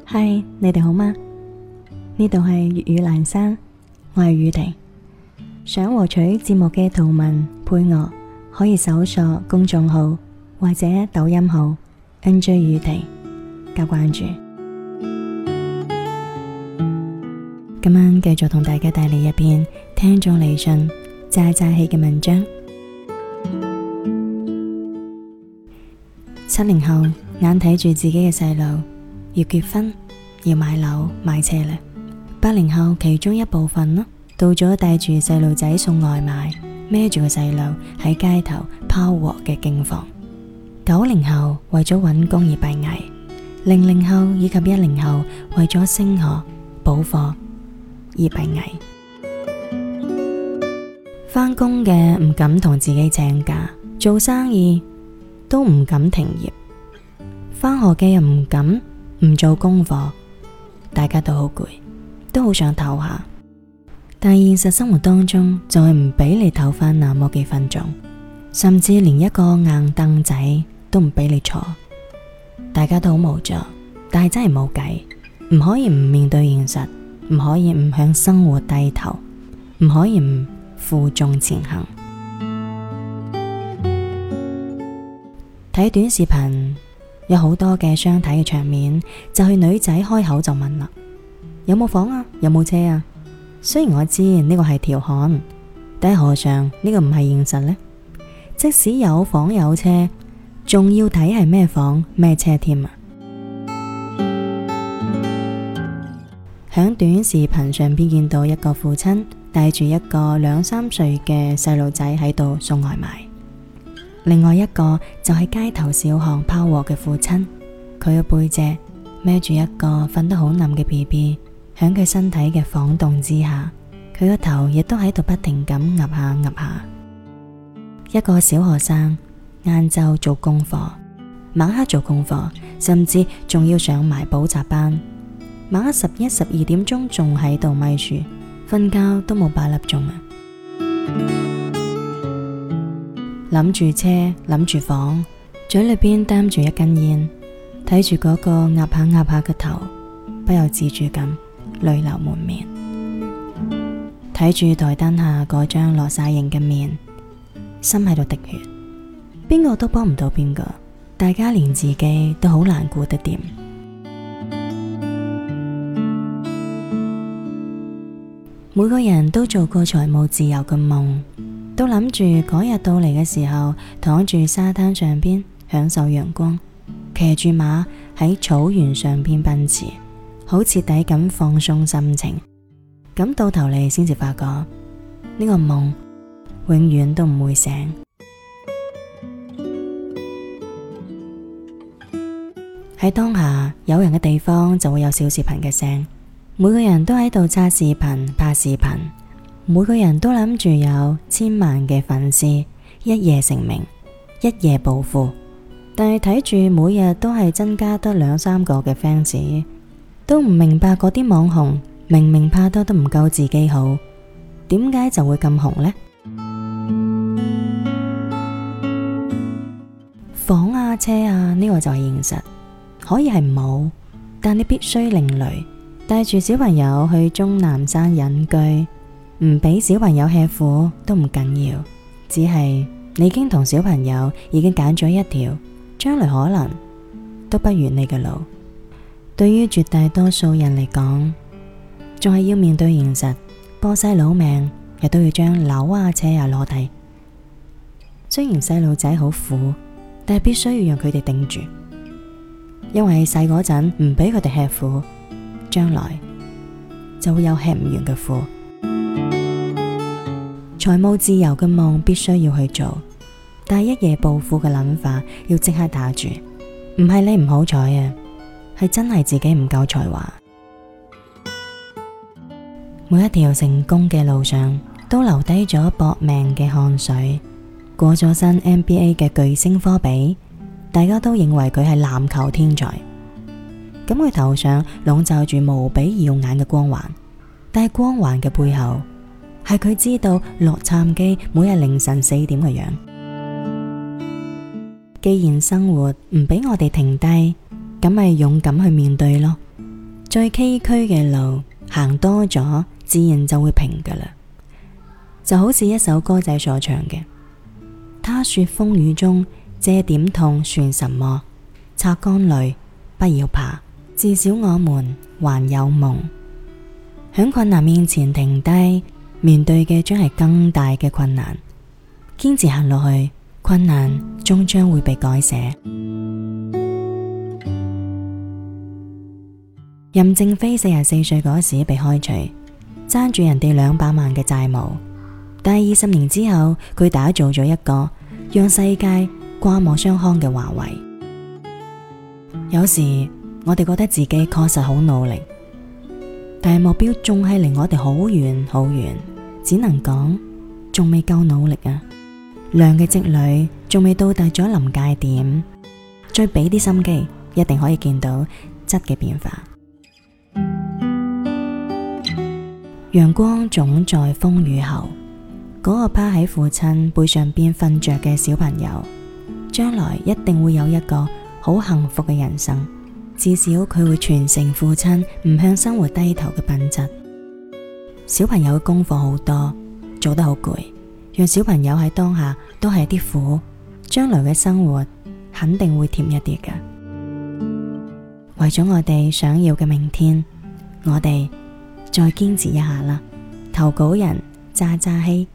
嗨，你哋好嗎？呢度係粵語闌珊，我係宇婷。想獲取節目嘅圖文配樂，可以搜索公眾號或者抖音號 NJ 宇婷加關注。今晚繼續同大家帶嚟一篇聽眾嚟信渣渣氣嘅文章。70後眼睇住自己嘅細路要結婚，要買樓買車啦。80後其中一部分啦，到咗帶住細路仔送外賣，孭住個細路喺街頭拋鑊嘅境況。90後為咗搵工而閉翳，00後以及10後為咗升學補課而閉翳。返工嘅唔敢同自己請假，做生意都唔敢停業，返學嘅又唔敢唔做功課，大家都好攰，都好想唞下，但現實生活當中就係唔俾你唞返那麼幾分鐘，甚至連一個硬凳仔都唔俾你坐。大家都好無助，但係真係冇計，唔可以唔面對現實，唔可以唔向生活低頭，唔可以唔負重前行。睇短視頻有好多嘅相睇嘅場面，就係女仔開口就問啦：有冇房啊？有冇車啊？雖然我知呢個係調侃，但係何嘗呢個唔係現實呢？即使有房有車，仲要睇係咩房咩車添啊！響短視頻上邊見到一個父親帶住一個2、3歲嘅細路仔喺度送外賣，另外一個就係街頭小巷拋鑊嘅父親，佢嘅背脊孭住一個瞓得好冧嘅 BB， 響佢身體嘅晃動之下，佢個頭亦都喺度不停咁岌下岌下。一個小學生晏晝做功課，晚黑做功課，甚至仲要上埋補習班，晚黑11、12點鐘仲喺度咪書，瞓覺都冇8粒鐘啊！諗住車，諗住房，嘴裏邊擔住一根煙，睇住嗰個岌下岌下嘅頭，不由自主咁淚流滿面。睇住台燈下嗰張落晒形嘅面，心喺度滴血。邊個都幫唔到邊個，大家連自己都好難顧得掂。每個人都做過財務自由嘅夢，都諗住嗰日到嚟嘅時候，躺住沙灘上邊享受陽光，騎住馬喺草原上邊奔馳，好徹底咁放鬆心情。咁到頭嚟先至發覺，呢個夢永遠都唔會醒。喺當下，有人嘅地方就會有小視頻嘅聲，每個人都喺度刷視頻拍視頻，每個人都諗住有1000萬嘅粉絲，一夜成名，一夜暴富。但係睇住每日都係增加得2、3個嘅 fans， 都唔明白嗰啲網紅明明拍得都唔夠自己好，點解就會咁紅呢？房啊車啊，呢個就係現實，可以係冇，但你必須另類。帶住小朋友去終南山隱居，唔俾小朋友吃苦都唔緊要，只係你已經同小朋友已經揀咗一條將來可能都不遠你嘅路。對於絕大多數人嚟講，仲係要面對現實，搏晒老命亦都要將樓啊車啊攞低。雖然細路仔好苦，但係必須要讓佢哋頂住，因為細嗰陣唔俾佢哋吃苦，將來就會有吃唔完嘅苦。財務自由嘅夢必須要去做，但係一夜暴富嘅諗法要即刻打住。唔係你唔好彩啊，係真係自己唔夠才華。每一條成功嘅路上都留低咗搏命嘅汗水。過咗身 NBA 嘅巨星科比，大家都認為佢係籃球天才，咁佢頭上籠罩住無比耀眼嘅光環，但係光環嘅背後係佢知道洛杉磯每日凌晨4點嘅樣。既然生活唔俾我哋停低，咁咪勇敢去面對咯。 最崎嶇嘅路行多咗，自然就會平噶啦。就好似一首歌仔所唱嘅：他說風雨中，這點痛算什麼？擦乾淚，不要怕，至少我們還有夢。響困難面前停低，面對嘅將係更大嘅困難。堅持行落去，困難終將會被改寫。任正非44歲嗰時被開除，爭住人哋200萬嘅債務。但係20年之後，佢打造咗一個讓世界刮目相看嘅華為。有時我哋覺得自己確實好努力，但係目標仲係離我哋好遠好遠，只能講仲未夠努力啊！量嘅積累仲未到達咗臨界點，再俾啲心機，一定可以見到質嘅變化。陽光總在風雨後，嗰個趴喺父親背上邊瞓着嘅小朋友，將來一定會有一個好幸福嘅人生。至少佢會傳承父親唔向生活低頭嘅品質。小朋友嘅功課好多，做得好攰，讓小朋友喺當下都係啲苦，將來嘅生活肯定會甜一啲嘅。為咗我哋想要嘅明天，我哋再堅持一下啦。投稿人渣渣希。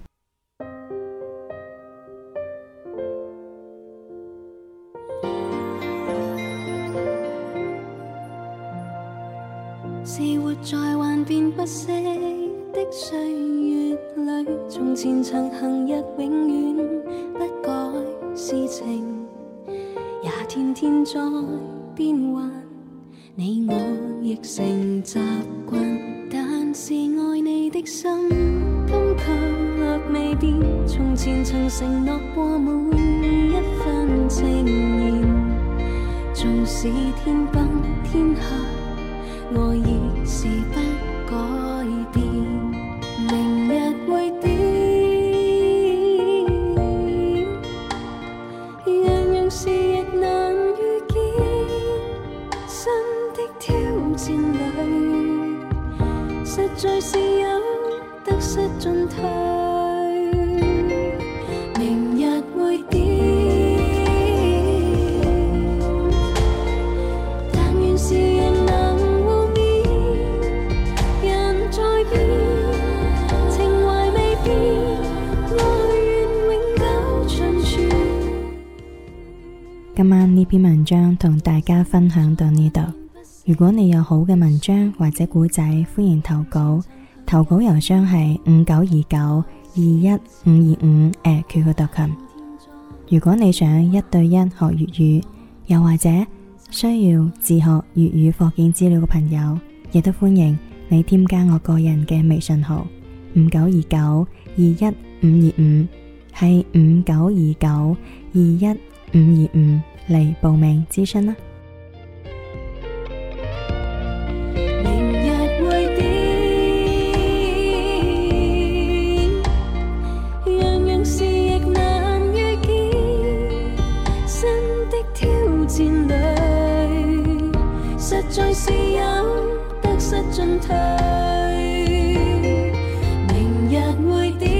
是活在幻變不息的歲月裏，從前曾行日永遠不改是情，也天天在變幻，你我亦成習慣，但是愛你的心今卻未變，從前曾承諾過每一份情言，縱使天崩天下，愛已是不改變，明日會點？樣樣事亦難預見，新的挑戰裏，實在是有得失進退。明日會點？但願是仍能今晚呢篇文章同大家分享到呢度。如果你有好嘅文章或者古仔，歡迎投稿。投稿郵箱係5929215525@qq.com。如果你想1對1學粵語，又或者需要自學粵語課件資料嘅朋友，亦都歡迎你添加我個人嘅微信號5929215525，係5929215525嚟報名諮詢啦。 明日會點？樣樣事亦難預見，新的挑戰裏，實在是有得失進退。明日會點？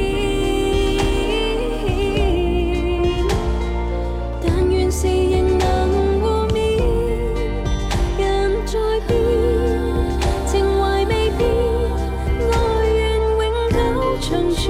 是仍能互勉，人在變，情懷未變，愛願永久長存。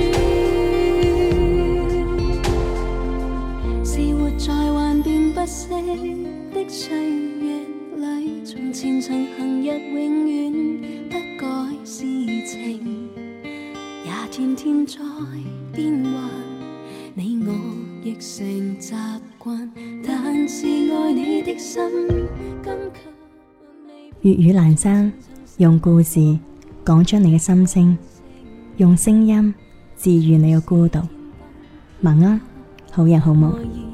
是活在幻變不息的歲月裏，從前曾行日永遠不改是情，也天天在變幻，你我亦成習慣，但是愛你的心今卻粵語闌珊，用故事講出你嘅心聲，用聲音治癒你嘅孤獨。晚安，好人好夢。